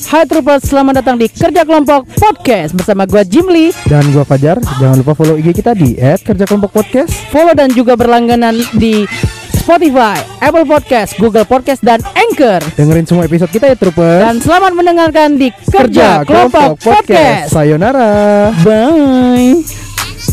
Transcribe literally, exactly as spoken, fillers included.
Hai Troopers, selamat datang di Kerja Kelompok Podcast bersama gue Jimli dan gue Fajar. Jangan lupa follow I G kita di et kerja kelompok podcast. Follow dan juga berlangganan di Spotify, Apple Podcast, Google Podcast, dan Anchor. Dengerin semua episode kita ya Troopers. Dan selamat mendengarkan di Kerja, Kerja Kelompok, Kelompok Podcast. Podcast. Sayonara. Bye.